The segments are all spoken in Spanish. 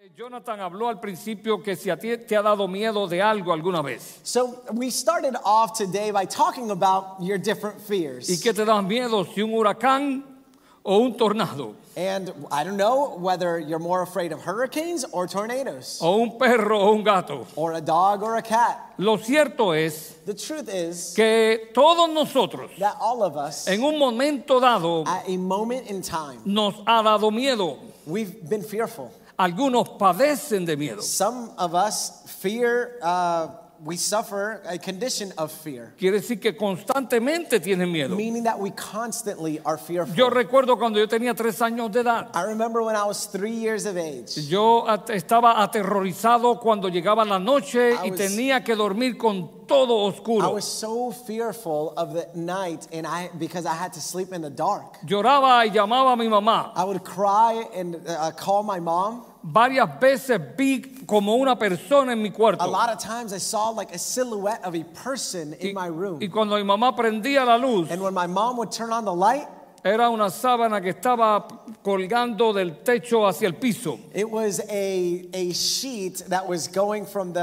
Jonathan habló al principio que si a ti te ha dado miedo de algo alguna vez. So we started off today by talking about your different fears. ¿Y qué te da miedo, si un huracán o un tornado? And I don't know whether you're more afraid of hurricanes or tornadoes. O un perro o un gato. Or a dog or a cat. Lo cierto es The truth is que todos nosotros that all of us, en un momento dado, at a moment in time, nos ha dado miedo. we've been fearful. Algunos padecen de miedo. Some of us fear, we suffer a condition of fear. Quiere decir que constantemente tienen miedo. Meaning that we constantly are fearful. Yo recuerdo cuando yo tenía 3 años de edad. I remember when I was 3 years of age. Yo estaba aterrorizado cuando llegaba la noche y was- tenía que dormir con todo I oscuro. was so fearful of the night because I had to sleep in the dark. Lloraba y llamaba a mi mamá. I would cry and call my mom. Varias veces vi como una persona en mi A cuarto. lot of times I saw like a silhouette of a person in my room. Y cuando mi mamá prendía la luz, And when my mom would turn on the light, era una sábana que estaba colgando del techo hacia el piso. it was a sheet that was going from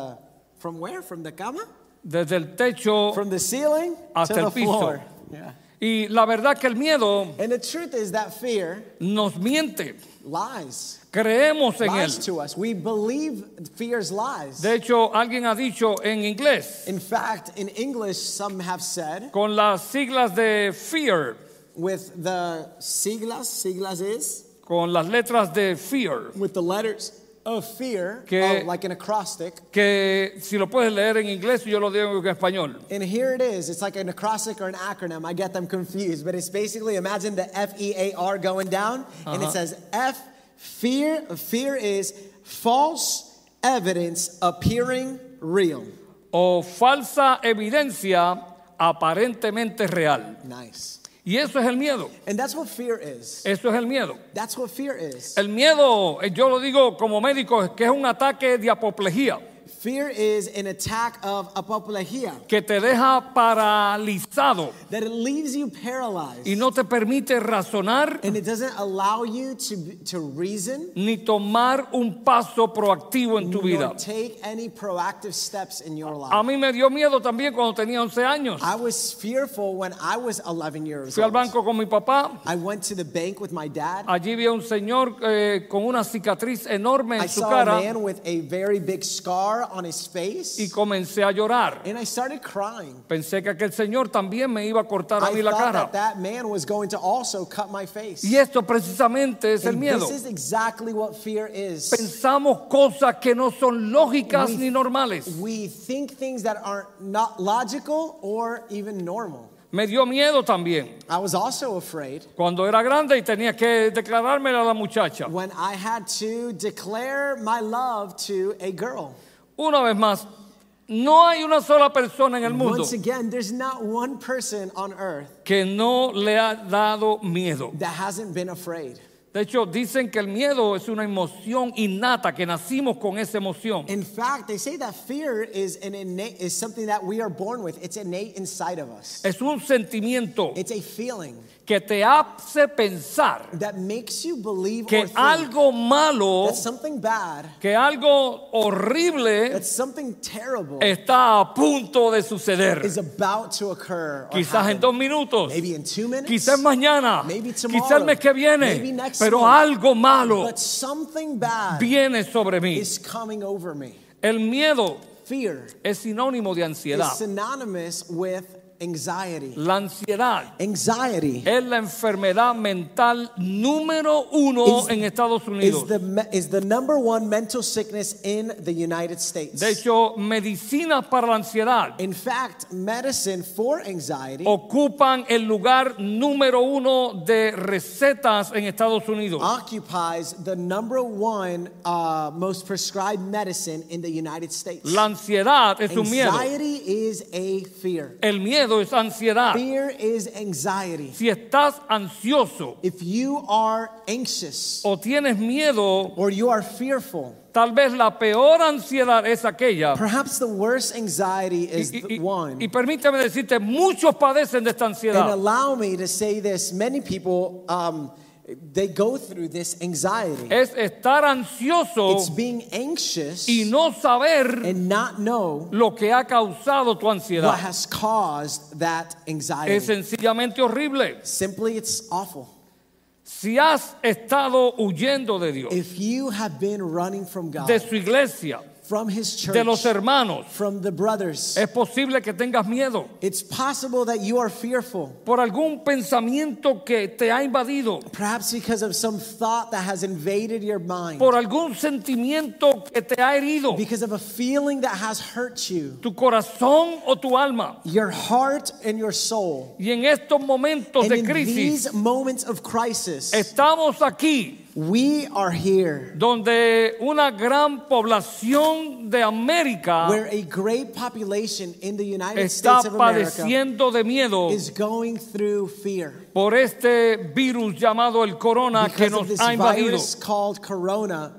where? From the cama? Desde el techo From the ceiling hasta to el the piso. floor. Yeah. Y la verdad que el miedo And the truth is that fear nos miente. lies. Creemos en Lies él. to us. We believe fear's lies. De hecho, alguien ha dicho en inglés, In fact, in English, some have said, con las siglas de fear, with the siglas is, con las letras de fear, with the letters of fear, Que- like an acrostic. que si lo puedes leer en inglés, yo lo digo en español. And here it is. It's like an acrostic or an acronym. I get them confused, but it's basically, imagine the FEAR going down, and it says fear. Fear is false evidence appearing real. O falsa evidencia aparentemente real. Nice. Y eso es el miedo. And that's what fear is. Eso es el miedo. That's what fear is. El miedo, yo lo digo como médico, es que es un ataque de apoplejía Fear is an attack of apoplejía, que te deja paralizado that it leaves you paralyzed. y no te permite razonar And it doesn't allow you to reason, ni tomar un paso proactivo en tu vida. nor take any proactive steps in your A life. mí me dio miedo también cuando tenía 11 años. I was fearful when I was 11 years Fui al old. banco con mi papá. I went to the bank with my dad. Allí vi a un señor con una cicatriz enorme I en su saw a cara man with a very big scar on his face, y comencé a llorar. and I started crying. Pensé que aquel señor también me iba a cortar a I mí la thought cara. that man was going to also cut my face. Y esto precisamente es el And miedo. this is exactly what fear is. Pensamos cosas que no son lógicas ni normales. We think things that aren't not logical or even normal. Me dio miedo también I was also afraid cuando era grande y tenía que declarármela a la muchacha. when I had to declare my love to a girl. Una vez más, no hay una sola persona en el mundo Once again, there's not one person on earth que no le ha dado miedo. that hasn't been afraid. De hecho, dicen que el miedo es una emoción innata, que nacimos con esa emoción. In fact, they say that fear is something that we are born with. It's innate inside of us. Es un sentimiento It's a feeling que te hace pensar that makes you believe que or think algo malo, that something bad, que algo horrible that something terrible está a punto de suceder. is about to occur. Or Quizás en happen. 2 minutos, Maybe in 2 minutes. quizás mañana, Maybe tomorrow. quizás el mes que viene, Maybe next pero month. algo malo But something bad viene sobre mí. is coming over me. El miedo Fear es sinónimo de is ansiedad. synonymous with anxiety. La ansiedad Anxiety es la enfermedad mental número 1 en Estados Unidos. is the number one mental sickness in the United States. De hecho, medicinas para la ansiedad In fact, medicine for anxiety ocupan el lugar número 1 de recetas en Estados Unidos. occupies the number one most prescribed medicine in the United States. La ansiedad es un miedo. Anxiety is a fear. El miedo es ansiedad. Fear is anxiety. Si estás ansioso If you are anxious o tienes miedo, or you are fearful, tal vez la peor ansiedad es aquella. perhaps the worst anxiety is Y, the one. y permítame decirte, muchos padecen de esta And ansiedad. allow me to say this, many people they go through this anxiety. Es estar ansioso It's being anxious y no saber and not know lo que ha causado tu what ansiedad. has caused that Es anxiety. sencillamente horrible. Simply, it's awful. Si has estado huyendo de Dios, If you have been running from God, de su iglesia, from His church, de los hermanos, from the brothers, es posible que tengas miedo it's possible that you are fearful. por algún pensamiento que te ha invadido, Perhaps because of some thought that has invaded your mind. por algún sentimiento que te ha herido, Because of a feeling that has hurt you. tu corazón o tu alma. Your heart and your soul. Y en estos momentos And de in crisis, these moments of crisis, estamos aquí we are here donde una gran población de América where a great population in the United está States of America padeciendo de miedo is going through fear. por este virus llamado el corona que Because of nos this ha invadido. virus called corona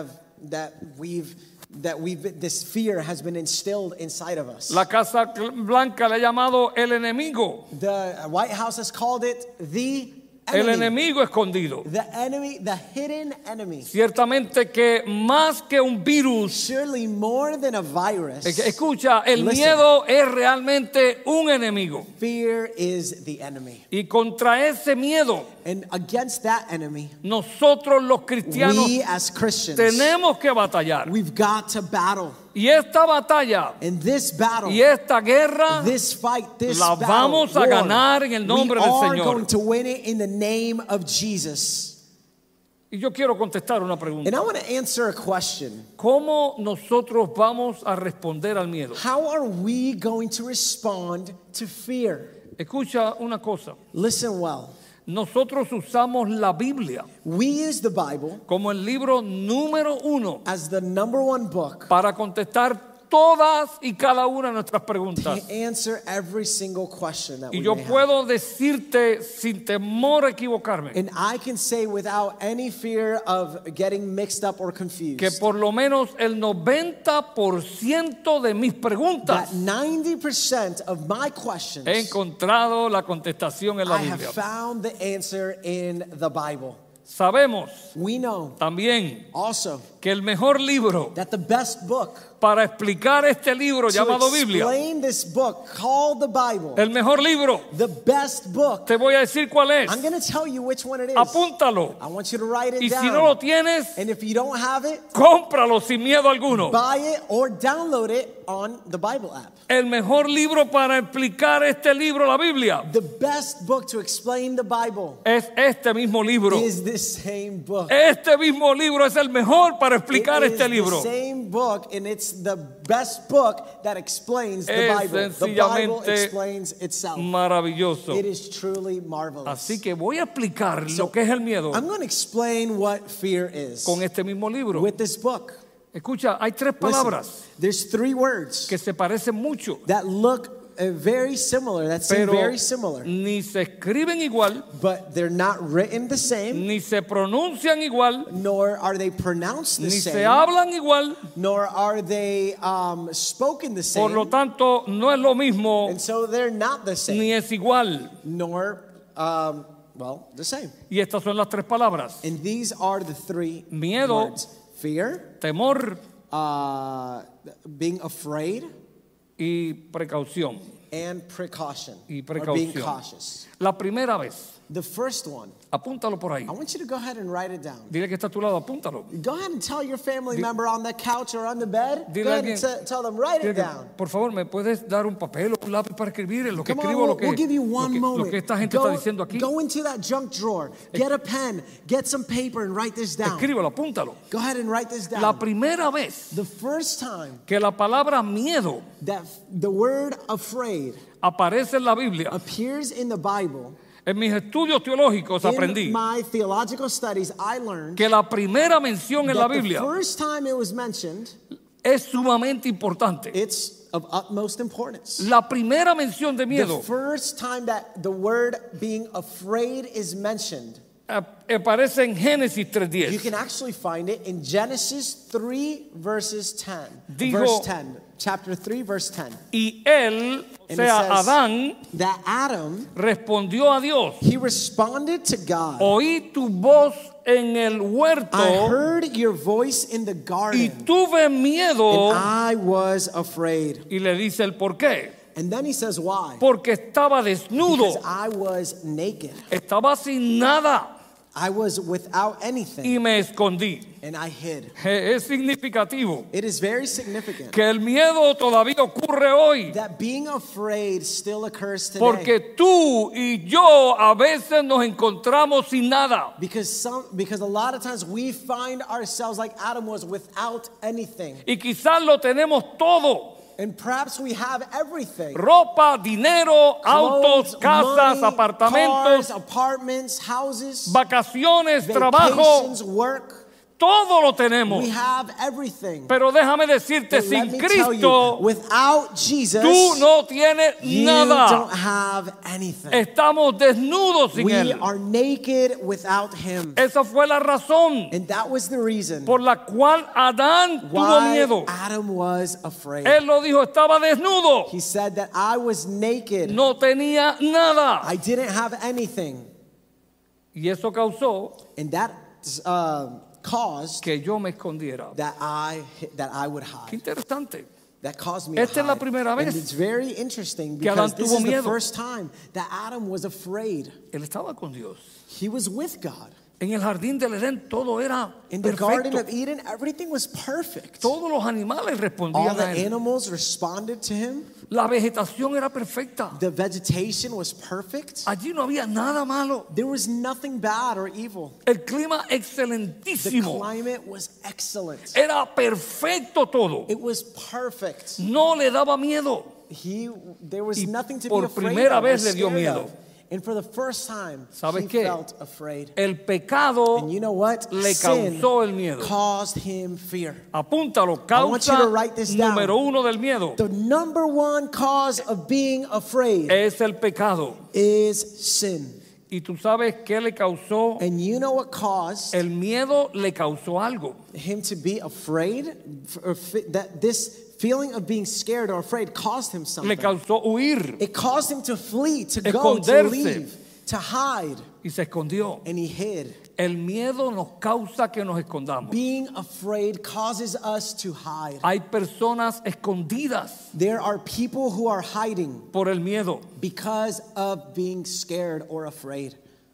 this fear has been instilled inside of us. La Casa Blanca le ha llamado el enemigo, The White House has called it the el enemy. enemigo escondido. The enemy, the hidden enemy. Ciertamente que más que un virus, Surely more than a virus, escucha, el Listen. miedo es realmente un enemigo. fear is the enemy. Y contra ese miedo, And against that enemy, nosotros los cristianos we as Christians, tenemos que batallar. we've got to battle. Y esta batalla And this battle, y esta guerra this fight, this la battle, vamos a war, ganar en el nombre we del are Señor. going to win it in the name of Jesus. Y yo quiero contestar una And pregunta. I want to answer a question. ¿Cómo nosotros vamos a responder al miedo? How are we going to respond to fear? Escucha una cosa. Listen well. Nosotros usamos la Biblia We use the Bible como el libro número 1 as the number one book para contestar todas y cada una de nuestras to preguntas. answer every single question that Y we yo may have. puedo decirte sin temor a equivocarme And I can say without any fear of getting mixed up or confused que por lo menos el 90% de mis that preguntas 90% of my questions he encontrado la contestación en la I have Biblia. found the answer in the Bible. Sabemos We know también also que el mejor libro that the best book para explicar este libro to llamado Biblia, explain this book called the Bible, el mejor libro, the best book, te voy a decir cuál es. I'm going to tell you which one it is. Apúntalo. I want you to write it Y down. si no lo tienes, And if you don't have it, cómpralo sin miedo alguno. buy it or download it on the Bible app. El mejor libro para explicar este libro, la Biblia, The best book to explain the Bible es este mismo libro. is this same book. Este mismo libro es el mejor para It explicar is este the libro. same book, and it's the best book that explains the Es Bible. The Bible sencillamente explains itself. Maravilloso. It is truly marvelous. Así que voy a explicar lo que es el miedo I'm going to explain what fear is con este mismo libro. with this book. Escucha, hay tres Listen, palabras there's three words que se parecen mucho, that look very similar, that seem pero very similar, ni se escriben igual, but they're not written the same, ni se pronuncian igual, nor are they pronounced the ni se same, hablan igual. nor are they spoken the Por lo same, tanto, no es lo mismo and so they're not the same, ni es igual. nor, the same. Y estas son las tres palabras: And these are the three Miedo. words. Fear, temor being afraid, y precaución. and precaution, Y or being precaución. cautious. La primera vez, The first one, apúntalo por ahí. I want you to go ahead and write it down. Dile que está a tu lado, apúntalo. Go ahead and tell your family member on the couch or on the bed. Dile Go a ahead and alguien- tell them, write Dile it que, down. por favor, ¿me puedes dar un papel o un lápiz para escribir en lo que Come on, escribo we'll give you one lo moment. que esta gente está diciendo aquí? Go into that junk drawer. Get a pen. Get some paper and write this down. Escríbelo, apúntalo. Go ahead and write this La down. primera vez The first time que la palabra miedo that the word afraid aparece en la Biblia, appears in the Bible, en mis estudios teológicos aprendí in my theological studies, I learned que la primera mención en la that the Biblia first time it was mentioned, es sumamente importante. it's of utmost importance. La primera mención de The miedo first time that the word being afraid is mentioned, aparece en Génesis you 3:10. can actually find it in Genesis 3 verses 10. Dijo- Verse 10. chapter 3, verse 10. Y él, o And sea, it says Adán, that Adam, respondió a Dios: he responded to God. oí tu voz en el I huerto heard your voice in the y garden, tuve miedo. and I was afraid. Y le dice el por qué. And then he says, why? Porque estaba desnudo, Because I was naked. estaba sin nada I was without anything, y me escondí. and I hid. Es significativo It is very significant que el miedo todavía ocurre hoy, that being afraid still occurs today. porque tú y yo a veces nos encontramos sin nada. Because a lot of times we find ourselves like Adam was, without anything. Y quizás lo tenemos todo: And perhaps we have everything. ropa, dinero, autos, Clothes, casas, money, apartamentos, cars, apartments, houses, vacaciones, trabajo, vacations, work. todo lo tenemos. We have everything. Pero déjame decirte, But let sin me tell you, Cristo without Jesus, tú no tienes you nada. don't have anything. Estamos desnudos sin We Él. are naked without Him. Esa fue la razón And that was the reason por la cual Adán tuvo why miedo. Adam was afraid. Él lo dijo, estaba desnudo, He said that I was naked. no tenía nada. I didn't have anything. Y eso causó And that caused que yo me escondiera. that I would Qué hide. interesante. That caused me to Esta es la hide. primera And vez it's very interesting que because Adán this tuvo is the miedo. first time that Adam was afraid. Él estaba con Dios. He was with God. En el jardín del Edén todo era In the Garden perfecto. of Eden, everything was perfect. Todos los animales All respondían the a Él. animals responded to him. La vegetación era perfecta. The vegetation was perfect. Allí no había nada malo. There was nothing bad or evil. El clima The excelentísimo. climate was excellent. Era perfecto todo. It was perfect. No le daba miedo. There was Y nothing to por be afraid primera of or vez le dio scared miedo. of. And for the first time, ¿Sabes he qué? felt afraid. El pecado, And you know what? le Sin causó el miedo. caused him fear. apúntalo, I want you causa to write this down. número uno del miedo The number one cause of being afraid es el pecado. is sin. Y tú sabes qué le causó. And you know what caused El miedo le causó algo. him to be afraid? That this feeling of being scared or afraid caused him Le something. causó huir It caused him to flee, to go, to Esconderse. leave, to hide. y se escondió. And he hid. El miedo nos causa que nos escondamos. Being afraid causes us to hide. Hay personas escondidas There are people who are hiding por el miedo. because of being scared or afraid.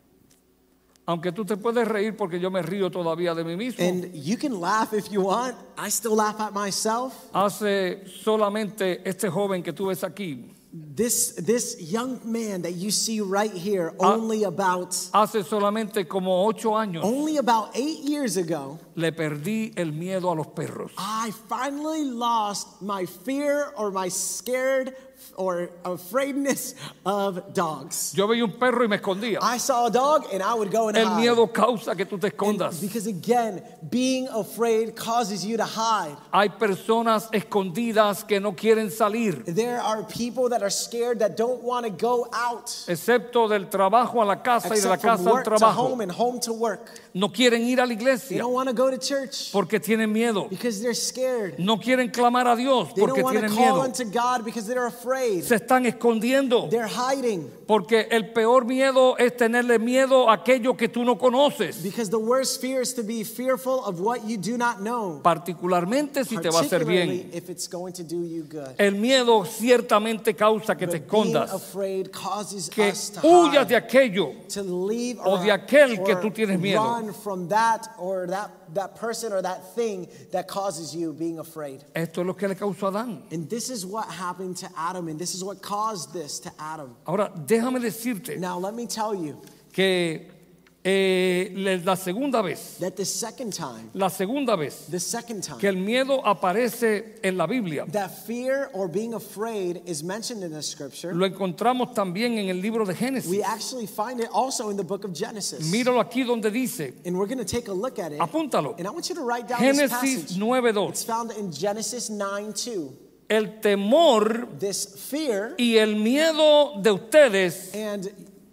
Aunque tú te puedes reír porque yo me río todavía de mí mismo. And you can laugh if you want. I still laugh at myself. Hace solamente este joven que tú ves aquí, This young man that you see right here, only about hace solamente como 8 años, 8 years ago, le perdí el miedo a los perros. I finally lost my fear or my scared or afraidness of dogs. Yo veía un perro y me escondía. I saw a dog and I would go and El hide. miedo causa que tú te And escondas. because again, being afraid causes you to hide. Hay personas escondidas que no quieren salir, There are people that are scared that don't want to go out. excepto del trabajo a la casa y de la Except from casa al work to trabajo. home and home to work. No quieren ir a la They iglesia don't want to go to church porque tienen miedo. because they're scared. No quieren clamar a Dios They don't porque want to tienen call miedo. unto God because they're afraid. Se están escondiendo They're hiding porque el peor miedo es tenerle miedo a aquello que tú no conoces, because the worst fear is to be fearful of what you do not know, particularmente si te va a hacer particularly bien. if it's going to do you good. El miedo ciertamente causa que te But being escondas, afraid causes que us to huyas de hide, aquello to leave o de or aquel que tú tienes miedo. run from that or that person or that thing that causes you being afraid. Esto es lo que le causó a Adán. And this is what happened to Adam, and this is what caused this to Adam. Ahora, déjame decirte Now let me tell you que la segunda vez that the second time que el miedo aparece en la Biblia, that fear or being afraid is mentioned in the scripture, lo encontramos también en el libro de we Génesis. actually find it also in the book of Genesis. Míralo aquí donde dice, And we're going to take a look at it. apúntalo, And I want you to write down this Génesis passage. 9:2. It's found in Genesis 9:2. El temor This fear y el miedo de ustedes and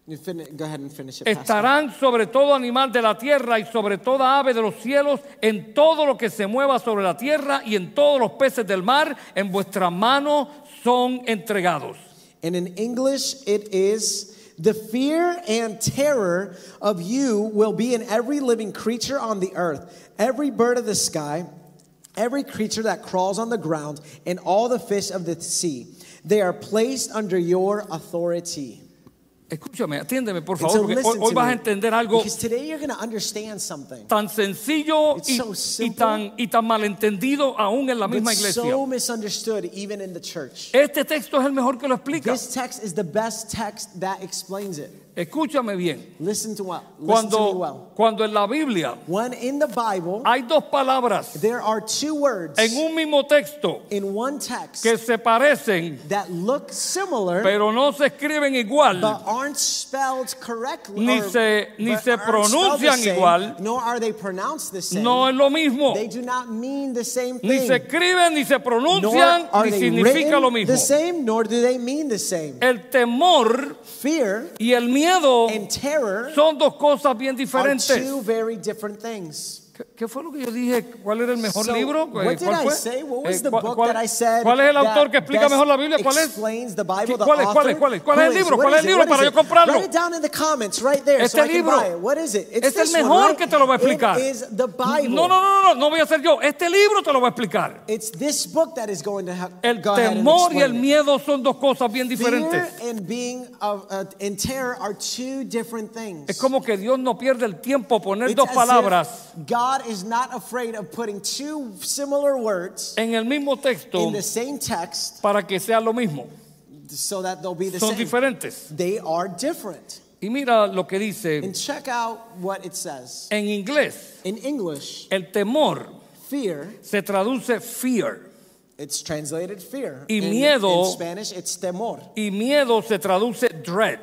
Go ahead and finish it, Pastor. Estarán sobre todo animal de la tierra y sobre toda ave de los cielos, en todo lo que se mueva sobre la tierra y en todos los peces del mar, en vuestra mano son entregados. And in English, it is, the fear and terror of you will be in every living creature on the earth, every bird of the sky, every creature that crawls on the ground, and all the fish of the sea. They are placed under your authority. Escúchame, atiéndeme por And favor, so porque listen hoy to vas a me, entender algo because today you're going to understand something. tan sencillo It's so simple, y tan malentendido aún en la but misma iglesia. so misunderstood even in the church. Este texto es el mejor que lo explica. This text is the best text that explains it. Escúchame bien. Listen to me well. Cuando en la Biblia When in the Bible, hay dos palabras there are two words en un mismo texto in one text que se parecen, that look similar, pero no se escriben igual, but aren't spelled correctly, ni or- se but aren't spelled the pronuncian same, igual, nor are they pronounced the same. no es lo mismo. They do not mean the same Ni thing. se escriben, ni se Nor pronuncian, are ni they significa lo written mismo. the same, nor do they mean the same. El temor Fear y el miedo and terror son dos cosas bien are diferentes. two very different things. ¿Qué fue lo que yo dije? ¿Cuál era el mejor So, libro? what did ¿Cuál I fue? say? What was the ¿Cuál- book cuál- that I said? ¿Cuál es el autor that que explica best mejor la Biblia? ¿Cuál es? explains the Bible, the ¿Cuál es? author? ¿Cuál es? ¿Cuál es? ¿Cuál es el Who libro? What ¿Cuál es is el it? libro What para is yo it? comprarlo? Write it down in the comments right there so Este I can libro buy it. What is it? It's es el this one, mejor right? que te lo voy a explicar. It is the Bible. No voy a ser yo. Este libro te lo voy a explicar. It's this book that is going to El go ahead and temor y el explain it. miedo son dos cosas bien Fear diferentes. and being and terror are two different things. Es como que Dios no pierde el tiempo poner It's dos as palabras if God is not afraid of putting two similar words en el mismo texto in the same text para que sea lo mismo. so that they'll be the Son same. diferentes. They are different. Y mira lo que dice And check out what it says. en inglés. In English, El temor fear, se traduce fear it's translated fear. Y In miedo- Spanish, it's temor. y miedo se traduce dread.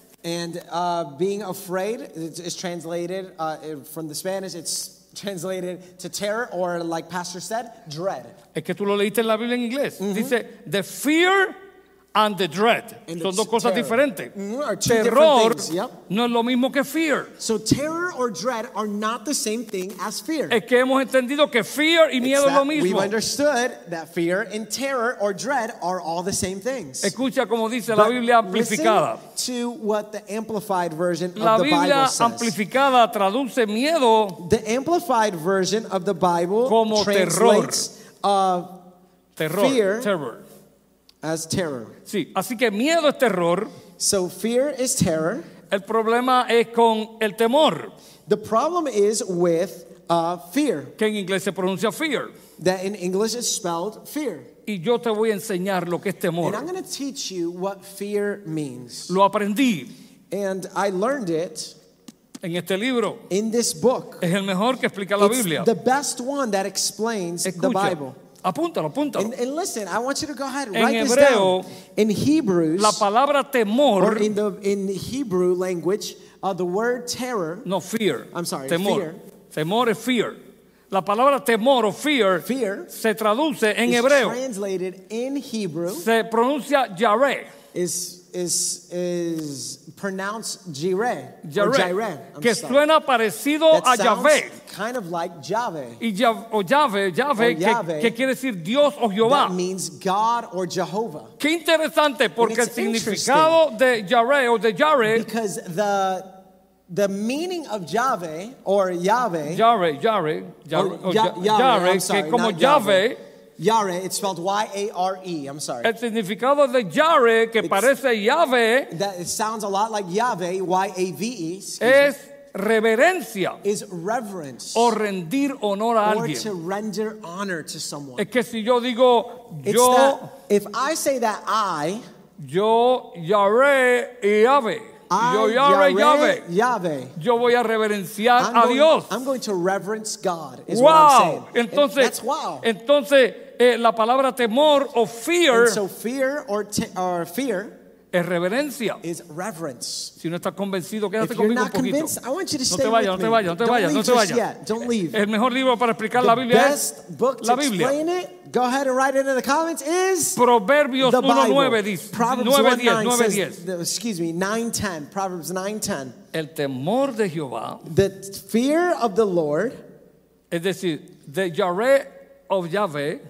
And being afraid is translated from the Spanish, it's translated to terror, or like Pastor said, dread. Es que tú lo leíste en la Biblia en inglés. Dice the fear and the dread. And Son it's dos cosas terror. diferentes. Are two different Terror things, yep. no es lo mismo que fear. So terror or dread are not the same thing as fear. Es que hemos entendido que fear y It's miedo es lo that we've mismo. understood that fear and terror or dread are all the same things. Escucha como dice la But Biblia listen amplificada. to what the amplified version La of the Biblia Bible says. amplificada traduce miedo, The amplified version of the Bible Como translates terror, Fear. terror. as terror. Sí, así que miedo es terror. So fear is terror. El problema es con el temor, The problem is with fear, que en inglés se pronuncia fear. that in English is spelled fear. Y yo te voy a enseñar lo que es And I'm temor. going to teach you what fear means. Lo aprendí And I learned it en este libro. in this book. Es el mejor que explica la It's Biblia. the best one that explains the Escucha, Bible. apúntalo. And listen, I want you to go ahead and En write this hebreo, down. In Hebrews, La palabra or temor, in Hebrew language, the word terror, no fear. I'm sorry, temor. fear. Temor es fear. La palabra temor o fear fear se traduce en is hebreo. translated in Hebrew, Se pronuncia yareh. is pronounced jireh, or Yareh, jireh. I'm que sorry. suena parecido That a sounds Yahvé. kind of like Yahweh. Y Yahvé, Yahvé. que quiere decir Dios o Jehová. That means God or Jehovah. Qué interesante, porque el it's significado de Yareh o de Yareh, Because the meaning of Yahweh or Yahweh, Yareh, I'm que sorry, como not Yahweh. Yahvé, Yahweh, it's spelled Y-A-R-E, I'm sorry. el significado de Yareh, que parece Yahvé, That it sounds a lot like Yahweh, Y-A-V-E, es reverencia is reverence o rendir honor a or alguien. to render honor to someone. Es que si yo digo It's yo that if I say that Yareh y Yahvé, yo Yahvé, Yahweh, yo voy a reverenciar a Dios. I'm going to reverence God, is what I'm Wow. saying. And Entonces, that's wow. la palabra temor o fear And so fear or fear es reverencia. is reverence. Si no estás convencido, quédate If you're conmigo un not poquito. convinced, I want you to No stay te vayas, no with te me. vayas, no te Don't vayas, leave no te just vayas. yet. Don't leave. El mejor libro para explicar la The Biblia es best book to la Biblia. explain it, go ahead and write it in the comments, is Proverbios the Bible. 1:9 dice, Proverbs 9:10, 1:9 9:10. says, excuse me, 9:10. Proverbs 9:10. El temor de Jehová, The fear of the Lord, es decir, the Yare of Yahweh,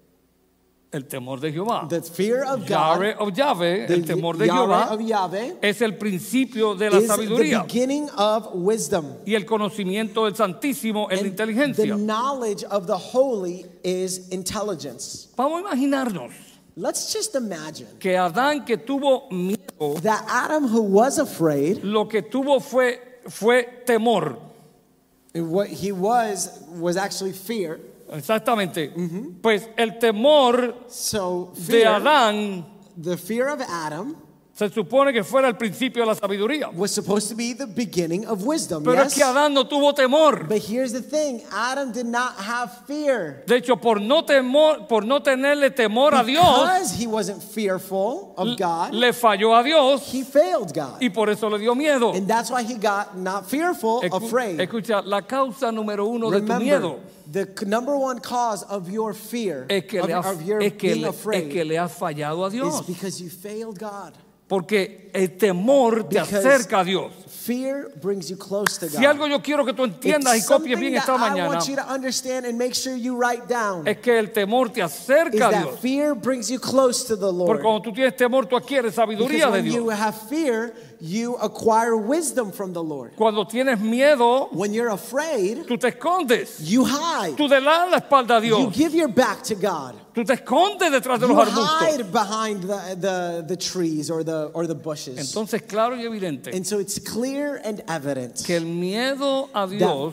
el temor de Jehová. the fear of Yare God, of Yahweh, the el temor de Yahweh Jehová, of Yahweh, es el principio de la is the sabiduría beginning of wisdom. y el conocimiento del Santísimo es la And the inteligencia. knowledge of the holy is intelligence. Vamos a imaginarnos Let's just imagine que Adán, que tuvo miedo, that Adam, who was afraid, lo que tuvo fue temor. what he was actually fear. Exactamente. Pues el temor So de fear, Adán the fear of Adam se supone que fuera el principio de la sabiduría. was supposed to be the beginning of wisdom. Pero Yes? es que Adán no tuvo temor. But here's the thing, Adam did not have fear. De hecho, por no tenerle temor a Dios, Because he wasn't fearful of God, le falló a Dios he failed God. y por eso le dio miedo. And that's why he got not fearful, afraid. Escucha, la causa número uno de tu Remember, miedo the number one cause of your fear, es que, of your being afraid, le has fallado a is Dios. because you failed God. Porque el temor te Because acerca a Dios. Fear brings you close to God. Si algo yo quiero que tú entiendas y It's copies something bien that esta I mañana, want you to understand and make sure you write down. es que el temor te Is acerca a that Dios. fear brings you close to the Porque Lord. cuando tú tienes temor, tú adquieres Because sabiduría de when you Dios. have fear, you acquire wisdom from the Lord. Cuando tienes miedo, When you're afraid, tú te escondes. you hide. Tú le das la espalda a You Dios. give your back to God. Tú te escondes detrás de You los arbustos. hide behind the trees or the bushes. Entonces, claro y evidente And so it's clear and evident que el miedo a Dios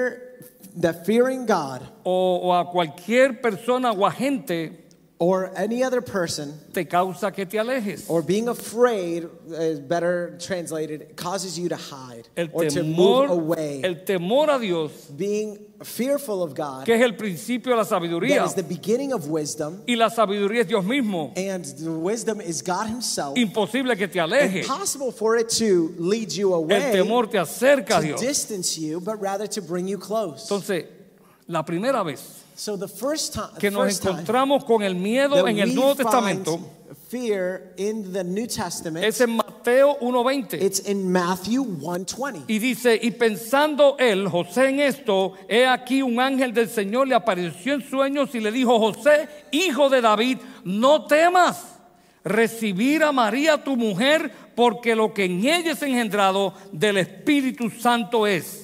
that fearing God o a cualquier persona o agente or any other person te causa que te alejes. or being afraid, is better translated, causes you to hide or to move away. El temor a Dios, Being fearful of God, que es el principio de la sabiduría. that is the beginning of wisdom, Y la sabiduría es Dios mismo. and the wisdom is God Himself. Imposible que te aleje. Impossible for it to lead you El away, temor te acerca a to Dios. distance you, but rather to bring you close. Entonces, la primera vez So the first time que nos encontramos con el miedo en el Nuevo Testamento fear in the New Testament, es en Mateo 1:20. it's in Matthew 1:20. Y dice, y pensando él, José, en esto, he aquí un ángel del Señor le apareció en sueños y le dijo, José, hijo de David, no temas recibir a María tu mujer, porque lo que en ella es engendrado del Espíritu Santo es.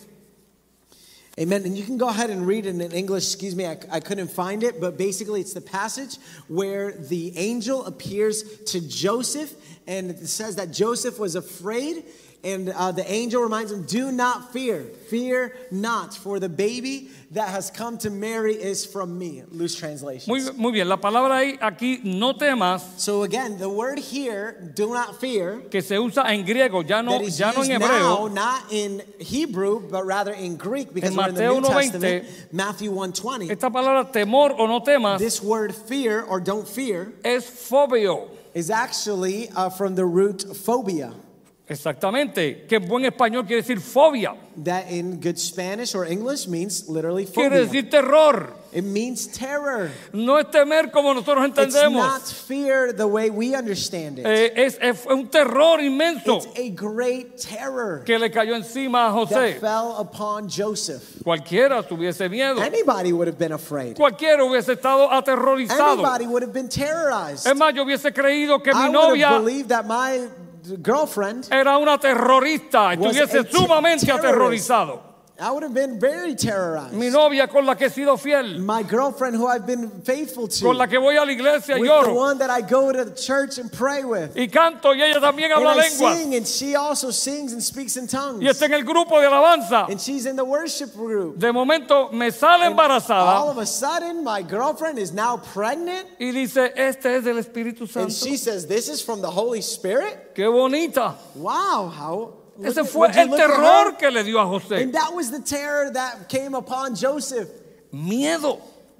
Amen. And you can go ahead and read it in English. Excuse me, I couldn't find it, but basically it's the passage where the angel appears to Joseph, and it says that Joseph was afraid, and the angel reminds him, do not fear. Fear not, for the baby that has come to Mary is from me. Loose translation. Muy bien, la palabra ahí, aquí, no temas, So again, the word here, do not fear, que se usa en griego, ya no that is en used now, hebreo. not in Hebrew, but rather in Greek, because En we're in the Mateo New 1:20, Testament, Matthew 1:20. Esta palabra temor o no temas This word fear or don't fear es fobio. is actually from the root phobia, Exactamente, que en buen español quiere decir fobia. that in good Spanish or English means literally Quiere phobia. decir terror. It means terror. No es temer como nosotros It's entendemos. not fear the way we understand it. Es un terror inmenso It's a great terror que le cayó encima a that José. fell upon Joseph. Cualquiera tuviese miedo. Anybody would have been afraid. Cualquiera hubiese estado aterrorizado. Anybody would have been terrorized. Es más, yo hubiese creído que I mi would have novia believed that my girlfriend, era una terrorista. Was Estuviese a sumamente terrorist. aterrorizado. I would have been very terrorized. Mi novia con la que he sido fiel, My girlfriend who I've been faithful to. con la que voy a la iglesia y With the lloro. one that I go to church and pray with. Y canto y ella también And habla I lenguas. sing, and she also sings and speaks in tongues. Y está en el grupo de alabanza. And she's in the worship group. De momento me sale All embarazada of a sudden, my girlfriend is now pregnant. y dice, este es del Espíritu And Santo. she says, this is from the Holy Spirit? Qué bonita. Wow, how... Ese look- fue would you el look at terror her? que le dio a José. And that was the terror that came upon Joseph. Miedo.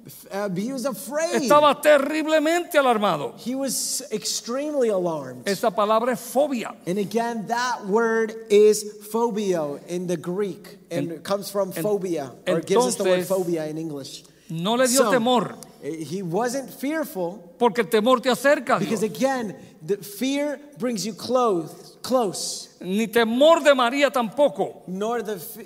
He was afraid. Estaba terriblemente alarmado. He was extremely alarmed. Esa palabra es fobia. And again, that word is phobia in the Greek, and it comes from phobia, or it gives us the word phobia in English. No le dio temor. He wasn't fearful. Porque el temor te acerca a Dios. Because again, the fear brings you close. Ni temor de María tampoco. Nor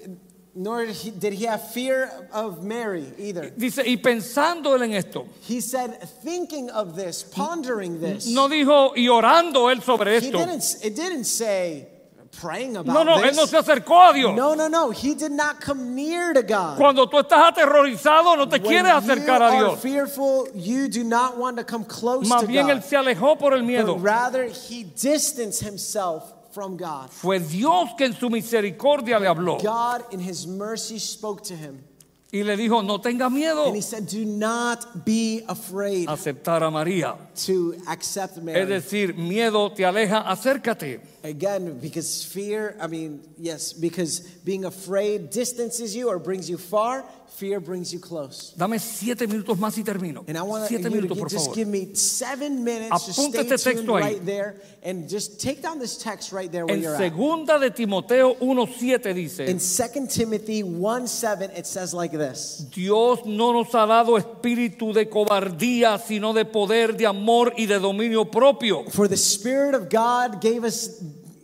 did he have fear of Mary either. Dice, y pensando él en esto. He said, thinking of this, pondering this. No dijo, y orando él sobre esto. It didn't say, praying about No, this. él no se acercó a Dios. No. He did not come near to God. Cuando tú estás aterrorizado, no te quieres acercar a When you Dios. are fearful, you do not want to come close Más to bien God. él se alejó por el miedo. But rather, he distanced himself from God. Fue Dios que en su misericordia le habló. God in his mercy spoke to him. Y le dijo, no tenga miedo. And he said, do not be afraid Aceptar a María. to accept Es Mary. decir, miedo te aleja, acércate. Again, because fear, because being afraid distances you or brings you far, fear brings you close. Dame 7 minutos más y termino. And I want 7 you minutos, to por just favor. give me 7 minutes. Just Apunta stay este tuned texto ahí. right there and just take down this text right there where En you're at. segunda de Timoteo 1:7 dice, In 2 Timothy 1:7, it says like this. Dios no nos ha dado espíritu de cobardía, sino de poder, de amor y de dominio propio. For the Spirit of God gave us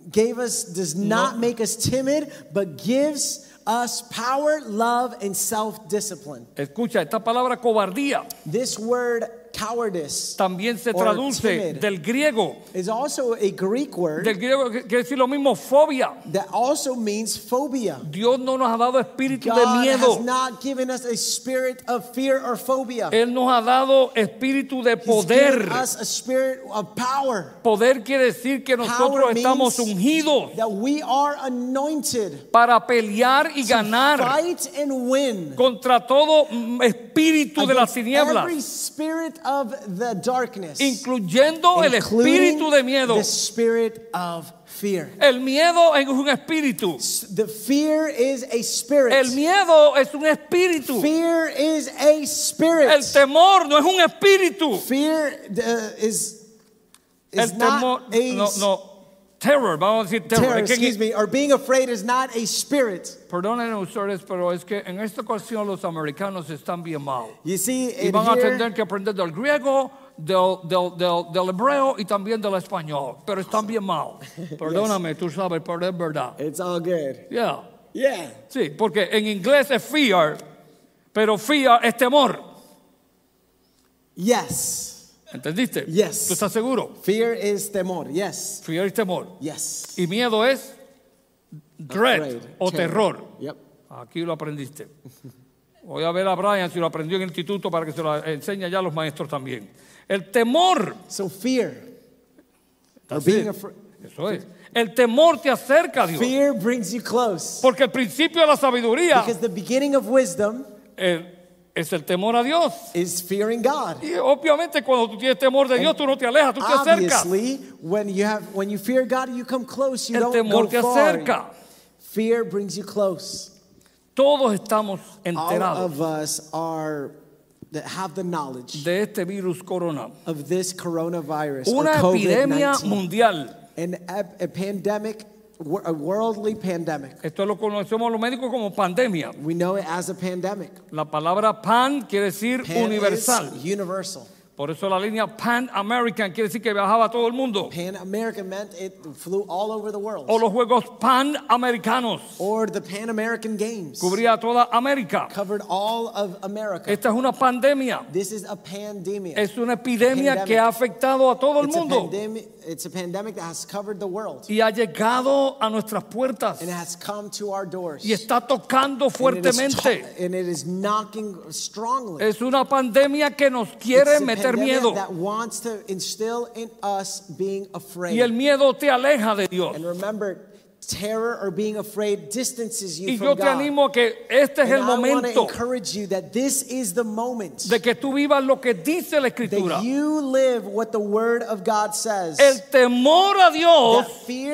does not make us timid, but gives us power, love, and self-discipline. Escucha, esta palabra cobardía This word cowardice también se or traduce timid del griego. is also a Greek word Del griego que quiere decir lo mismo, fobia. that also means phobia. Dios no nos ha dado espíritu de God has miedo. not given us a spirit of fear or phobia. Él nos ha dado espíritu de He's poder. given us a spirit of power. Poder quiere decir que nosotros Power estamos means ungidos that we are anointed para pelear y to ganar fight and win contra todo espíritu de las against tinieblas, every spirit of the darkness, incluyendo el including espíritu de miedo. the spirit of fear. El miedo es un espíritu. The fear is a spirit. El miedo es un espíritu. Fear is a spirit. El temor no es un espíritu. Fear is El temor, not a no, terror, vamos a decir terror. terror, Es que excuse me, or being afraid is not a spirit. Perdonen ustedes, pero es que en esta ocasión los americanos están bien mal. You see, Y in van a here, tener que aprender del griego, del hebreo y también del español. Pero están bien mal. Perdóname, tú sabes, pero es verdad. it's all good. Yeah. Yeah. Sí, porque en inglés es fear, pero fear es temor. Yes. ¿Entendiste? Yes. ¿Tú estás seguro? Fear is temor. Yes. Fear es temor. Yes. Y miedo es dread Afraid. o terror. Yep. Aquí lo aprendiste. Voy a ver a Brian si lo aprendió en el instituto para que se lo enseñe ya a los maestros también. El temor. So fear, or That's being it. afraid. Eso es. El temor te acerca a Dios. Fear brings you close. Porque el principio de la sabiduría Because the beginning of wisdom es el temor a Dios. is fearing God. Y obviamente cuando tú tienes temor de Dios, tú no te alejas, tú te acercas. Obviously, when you fear God, you come close. You El don't temor go te far. acerca. Fear brings you close. Todos estamos All enterados of us that have the knowledge de este virus corona. of this coronavirus or Una epidemia COVID-19, mundial. a pandemic, a worldly pandemic. Esto lo conocemos los médicos como pandemia. We know it as a pandemic. La palabra pan quiere decir Pan universal. is universal. Por eso la línea Pan American quiere decir que viajaba a todo el mundo. Pan American meant it flew all over the world. O los Juegos Pan Americanos. Or the Pan American Games Cubría toda América. covered all of America. Esta es una pandemia. This is a pandemia. Es una epidemia que ha afectado a todo el mundo. It's a pandemic that has covered the world. Y ha llegado a nuestras puertas. And it has come to our doors. Y está tocando fuertemente. And it is knocking strongly. Es una pandemia que nos quiere It's a meter pandemic miedo. that wants to instill in us being afraid. Y el miedo te aleja de Dios. And remember, terror or being afraid distances you Y from yo te God. animo a que este es And el I want to momento encourage you that this is the moment de que tú vivas lo que dice la Escritura. that you live what the Word of God says. El temor a Dios That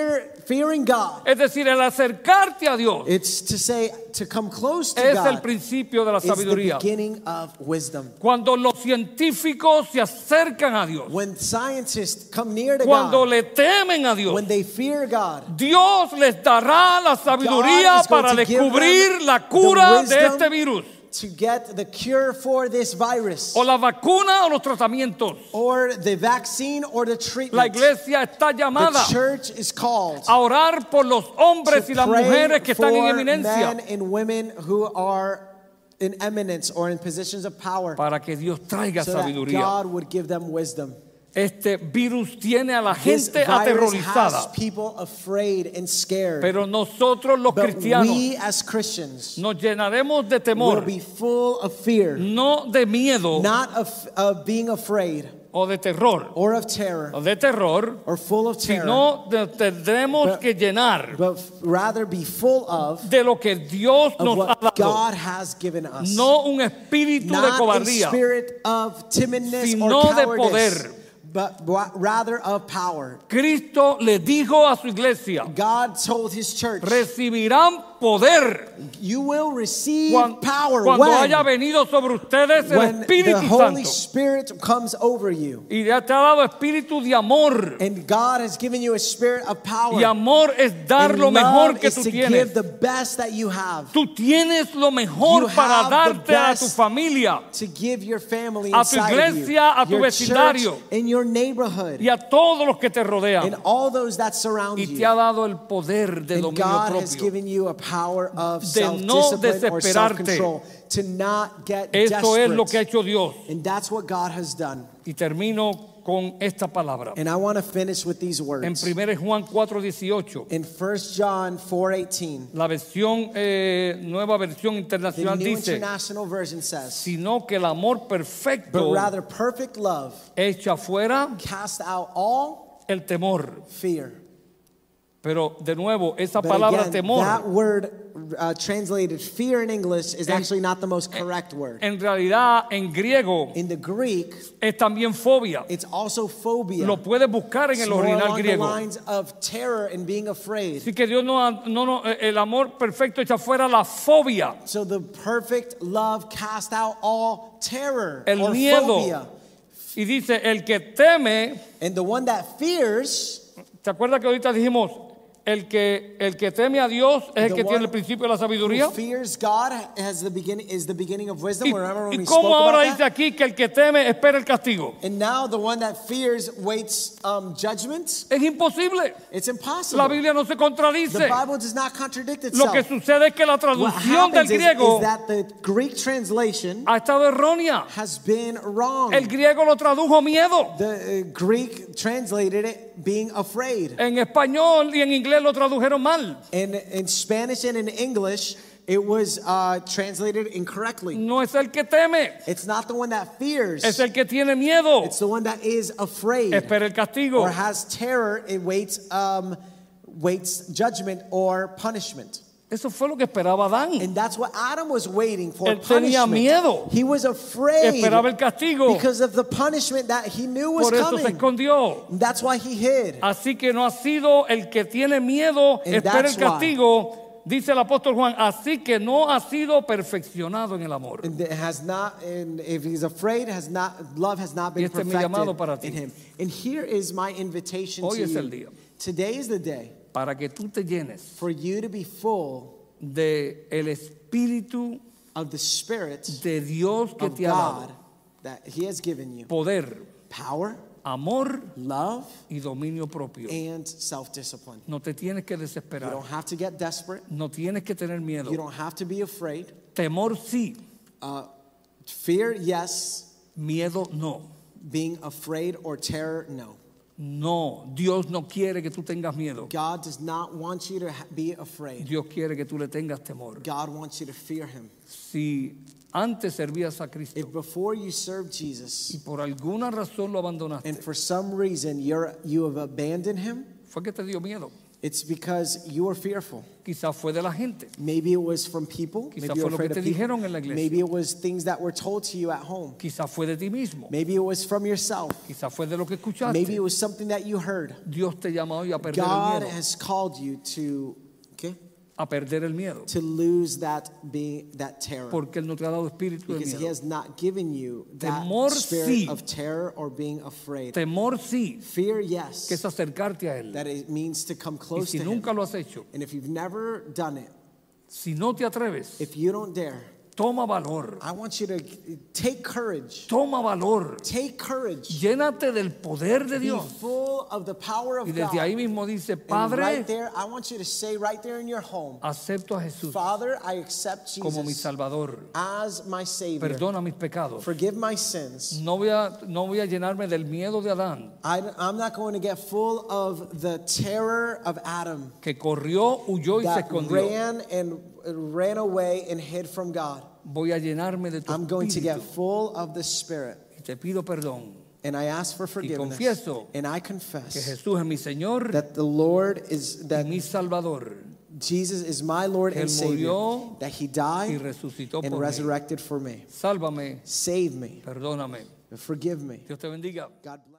fearing God. Es decir, el acercarte a Dios It's to say, to come close to es el God principio de la is the sabiduría. beginning of wisdom. Cuando los científicos se acercan a Dios, When scientists come near to cuando God, le temen a Dios, when they fear God, Dios les dará la sabiduría God is going para to give descubrir them la the cura de wisdom este virus, to get the cure for this virus, o la vacuna o los tratamientos. or the vaccine or the La treatment. iglesia está llamada The church is called a orar por los hombres y to las pray mujeres que están en for eminencia, men and women who are in eminence or in positions of power, para que Dios traiga so that sabiduría. God would give them wisdom. Este virus tiene a la This gente virus has aterrorizada, people afraid and scared. pero nosotros los But cristianos we as Christians nos llenaremos de will temor, be full of fear, no de miedo not of being afraid o de terror, or of terror o de terror, or full of terror, sino tendremos But- que llenar but rather be full of de lo que Dios nos ha what dado, God has given us. no un espíritu de Not a cobardía, spirit of timidness sino or de cowardice, poder. but rather of power. Cristo le dijo a su iglesia: God told his church, recibirán poder you will receive power cuando when haya venido sobre ustedes el the Espíritu Holy Santo. Spirit comes over you. Y ya te ha dado espíritu de amor. And God has given you a spirit of power. Y amor es dar And lo mejor love que is tú to tienes. give the best that you have. Tú tienes lo mejor You para have the darte a tu best familia To give your family A tu inside iglesia, of a you, tu your vecindario. church, in your neighborhood, y a todos los que te and rodean. all those that surround Y te you. ha dado el poder de And dominio God has propio. given you a power of De no self-discipline or desesperarte. self-control, to not get Eso es lo que ha desperate. hecho Dios. And that's what God has done. Y termino con esta palabra. And I want to finish with these En words. 1 Juan 4:18, In 1 John 4:18, la versión nueva versión the internacional New dice: International Version says, sino que el amor but perfecto rather perfect love echa fuera cast out all el temor. fear. Pero de nuevo, esa But palabra again, temor that word translated fear in English is actually not the most correct word. en realidad en griego In the Greek, es también fobia. it's also phobia. Lo puedes buscar en It's el more original along the griego. lines of terror and being afraid. Así que Dios el amor perfecto echa fuera la fobia, So the perfect love cast out all terror el or miedo. phobia. Y dice, el que teme, And the one that fears, ¿te acuerdas que ahorita dijimos, el que teme a Dios es el The que tiene one el principio de la sabiduría? who fears God is the beginning of wisdom. Remember when ¿Y we spoke cómo ahora about dice that? aquí que el que teme espera el castigo? And now the one that fears waits judgment. Es imposible. It's La impossible. Biblia no se The contradice. Bible does not contradict Lo que itself. sucede es que la What traducción del happens is griego that the Greek translation ha estado errónea. has been wrong. El griego lo tradujo miedo. The Greek translated it being afraid. En español y en inglés lo tradujeron mal. And in Spanish and in English, it was translated incorrectly. No es el que teme, It's not the one that fears. es el que tiene miedo. It's the one that is afraid Espera el castigo. or has terror. It waits judgment or punishment. Eso fue lo que esperaba Adán. And that's what Adam was waiting for. Él tenía Punishment. miedo. He was afraid Esperaba el castigo. because of the punishment that he knew was Por eso se coming. escondió. And that's why he hid. Así que no ha sido el que tiene miedo, And espera el that's why. castigo. Dice el apóstol Juan, así que no ha sido perfeccionado en el amor. And it has not, and if he's afraid, love has not Y been este es mi llamado para ti. perfected in him. And here is my invitation Hoy to es el you. día. Today is the day Para que tú te llenes for you to be full de el Espíritu of the Spirit de Dios que of te ha God dado that he has given you. poder, Power, amor love, y dominio propio. and self-discipline. No te tienes que You desesperar. don't have to get desperate. No tienes que tener miedo. You don't have to be afraid. Temor sí, Fear, yes. miedo no. Being afraid or terror, no. No, Dios no quiere que tú tengas miedo. God does not want you to be afraid. Dios quiere que tú le tengas temor. God wants you to fear him. Si antes servías a If Cristo before you serve y Jesus por alguna razón lo and abandonaste, for some reason you have abandoned him, fue que te dio miedo. It's because you were fearful. Quizás fue de la gente. Maybe it was from people. Quizás Maybe you fue were lo que afraid te of people. dijeron en la iglesia. Maybe it was things that were told to you at home. Quizás fue de ti mismo. Maybe it was from yourself. Quizás fue de lo que escuchaste. Maybe it was something that you heard. Dios te llama hoy a perder el God miedo. has called you to, A perder el miedo. to lose that terror. Porque Él no te ha dado espíritu de Because He miedo. has not given you that Temor, spirit sí. of terror or being afraid. Temor sí, Fear, que yes. es acercarte a Él. That it means to come Y close si to nunca Him. lo has hecho, And if you've never done it, si no te atreves, if you don't dare, toma valor. I want you to take courage. Toma valor. Take courage. Llénate del poder de Be Dios. full of the power of Y desde ahí God. mismo dice, And Padre, right there, I want you to say right there in your home, acepto a Jesús Father, I accept como mi Jesus Salvador. as my Savior. Perdona mis pecados. Forgive my sins. No voy a llenarme del miedo de Adán, I'm not going to get full of the terror of Adam que corrió, huyó y se that escondió. ran away and hid from God. Voy a llenarme de tu I'm going to get espíritu. full of the Spirit. Y te pido perdón. And I ask for forgiveness. confieso And I Que confess Jesús es mi Señor that the Lord is, y that mi Salvador. Jesus is my Lord Él and Savior. murió That He Y died resucitó and por mí. resurrected for me. Sálvame, Save me. perdóname. Forgive me. Dios te bendiga. God bless.